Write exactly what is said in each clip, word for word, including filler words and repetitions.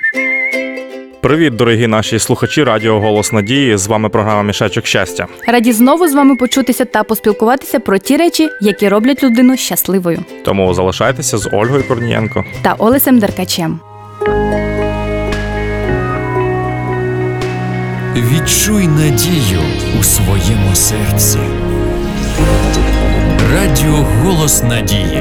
Привіт, дорогі наші слухачі Радіо Голос Надії. З вами програма «Мішечок щастя». Раді знову з вами почутися та поспілкуватися про ті речі, які роблять людину щасливою. Тому залишайтеся з Ольгою Корнієнко та Олесем Деркачем. Відчуй надію у своєму серці. Радіо Голос Надії.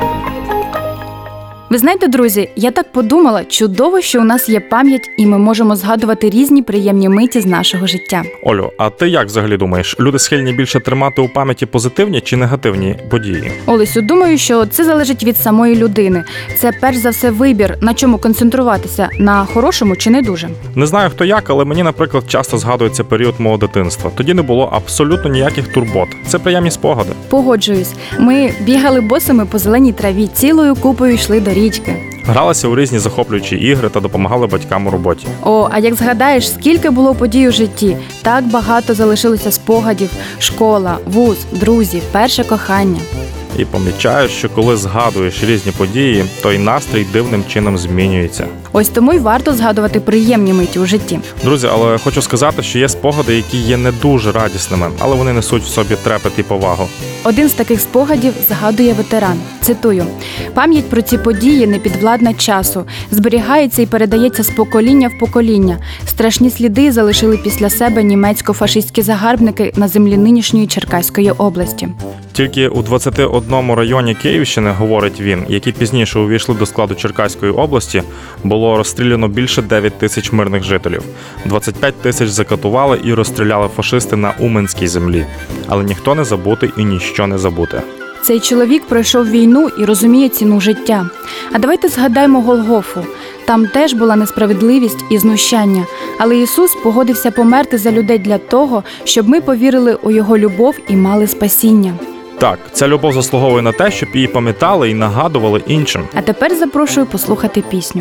Ви знаєте, друзі, я так подумала, чудово, що у нас є пам'ять і ми можемо згадувати різні приємні миті з нашого життя. Олю, а ти як взагалі думаєш, люди схильні більше тримати у пам'яті позитивні чи негативні події? Олесю, думаю, що це залежить від самої людини. Це перш за все вибір, на чому концентруватися, на хорошому чи не дуже. Не знаю хто як, але мені, наприклад, часто згадується період мого дитинства. Тоді не було абсолютно ніяких турбот. Це приємні спогади. Погоджуюсь. Ми бігали босими по зеленій траві, цілою купою йшли до річки. Гралися у різні захоплюючі ігри та допомагали батькам у роботі. О, а як згадаєш, скільки було подій у житті, так багато залишилося спогадів: школа, вуз, друзі, перше кохання. І помічаєш, що коли згадуєш різні події, то й настрій дивним чином змінюється. Ось тому й варто згадувати приємні миті у житті. Друзі, але хочу сказати, що є спогади, які є не дуже радісними, але вони несуть в собі трепет і повагу. Один з таких спогадів згадує ветеран. Цитую: «Пам'ять про ці події не підвладна часу, зберігається і передається з покоління в покоління. Страшні сліди залишили після себе німецько-фашистські загарбники на землі нинішньої Черкаської області». Тільки у двадцяти одному районі Київщини, говорить він, які пізніше увійшли до складу Черкаської області, було розстріляно більше дев'ять тисяч мирних жителів. двадцять п'ять тисяч закатували і розстріляли фашисти на Уманській землі. Але ніхто не забутий і ніщо не забуте. Цей чоловік пройшов війну і розуміє ціну життя. А давайте згадаємо Голгофу. Там теж була несправедливість і знущання. Але Ісус погодився померти за людей для того, щоб ми повірили у Його любов і мали спасіння. Так, ця любов заслуговує на те, щоб її пам'ятали і нагадували іншим. А тепер запрошую послухати пісню.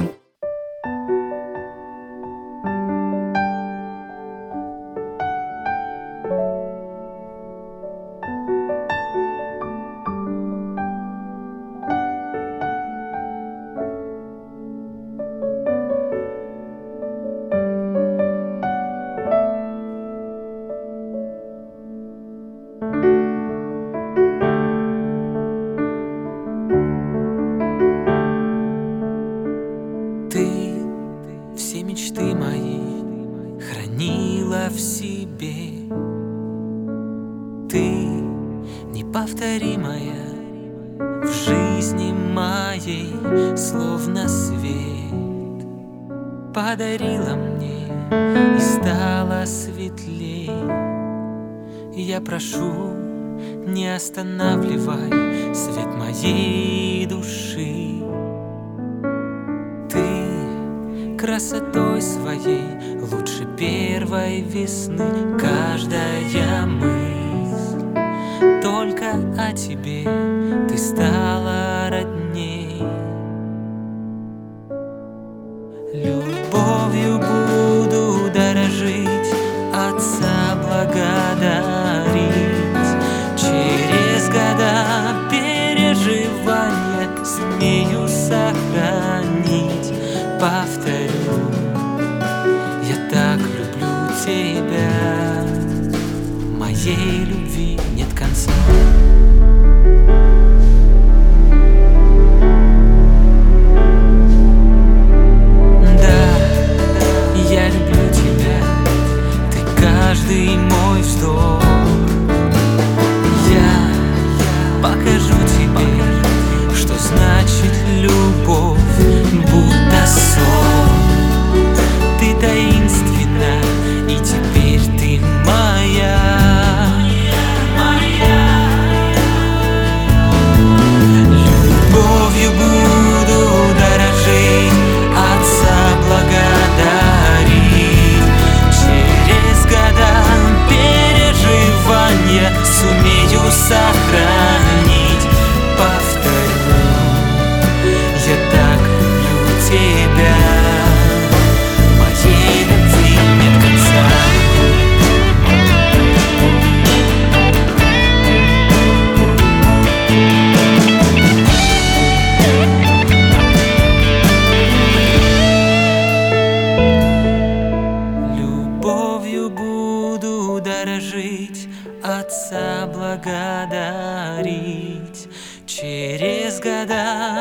Все мечты мои хранила в себе. Ты неповторимая в жизни моей, словно свет подарила мне и стала светлей. Я прошу, не останавливай свет моей души. Красотой своей лучше первой весны. Каждая мысль только о тебе, ты стала родней. Любовью буду дорожить, Отца благодарить. Через года переживания сумею сохранить. Повторю, я так люблю тебя, моей любви нет конца. Да, я люблю тебя, ты каждый мой вздох. Я покажу тебе, что значит любовь, будто сон.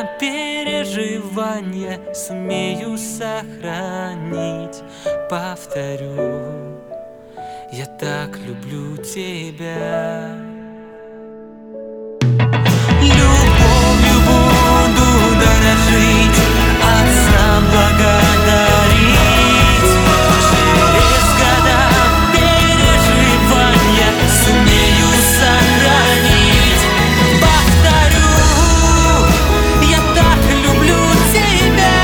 переживания сумею сохранить. Повторю, я так люблю тебя. Любовью буду дорожить, Отца благодарить. Через года переживания сумею сохранить. Повторю, я так люблю тебя.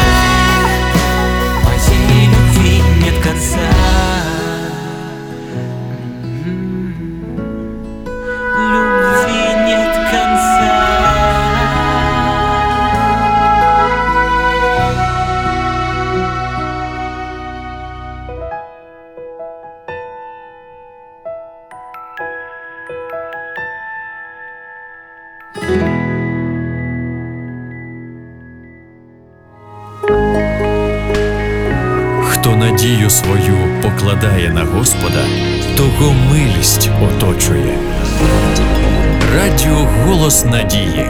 Моей любви нет конца. Любви нет конца. Хто надію свою покладає на Господа, того милість оточує. Радіо «Голос надії».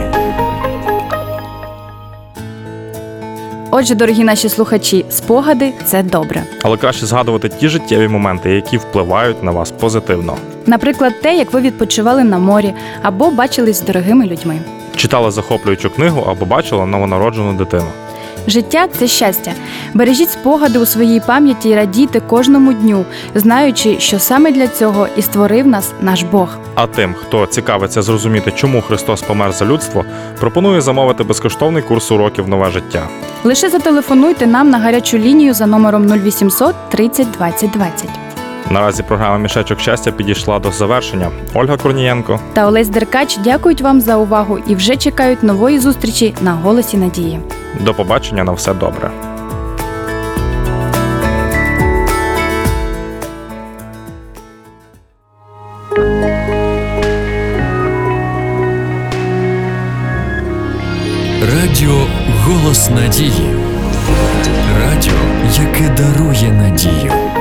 Отже, дорогі наші слухачі, спогади – це добре. Але краще згадувати ті життєві моменти, які впливають на вас позитивно. Наприклад, те, як ви відпочивали на морі або бачились з дорогими людьми. Читали захоплюючу книгу або бачили новонароджену дитину. Життя – це щастя. Бережіть спогади у своїй пам'яті і радійте кожному дню, знаючи, що саме для цього і створив нас наш Бог. А тим, хто цікавиться зрозуміти, чому Христос помер за людство, пропоную замовити безкоштовний курс уроків «Нове життя». Лише зателефонуйте нам на гарячу лінію за номером нуль вісімсот тридцять двадцять двадцять. Наразі програма «Мішечок щастя» підійшла до завершення. Ольга Корнієнко. Та Олесь Деркач дякують вам за увагу і вже чекають нової зустрічі на «Голосі надії». До побачення, на все добре. Радіо «Голос надії». Радіо, яке дарує надію.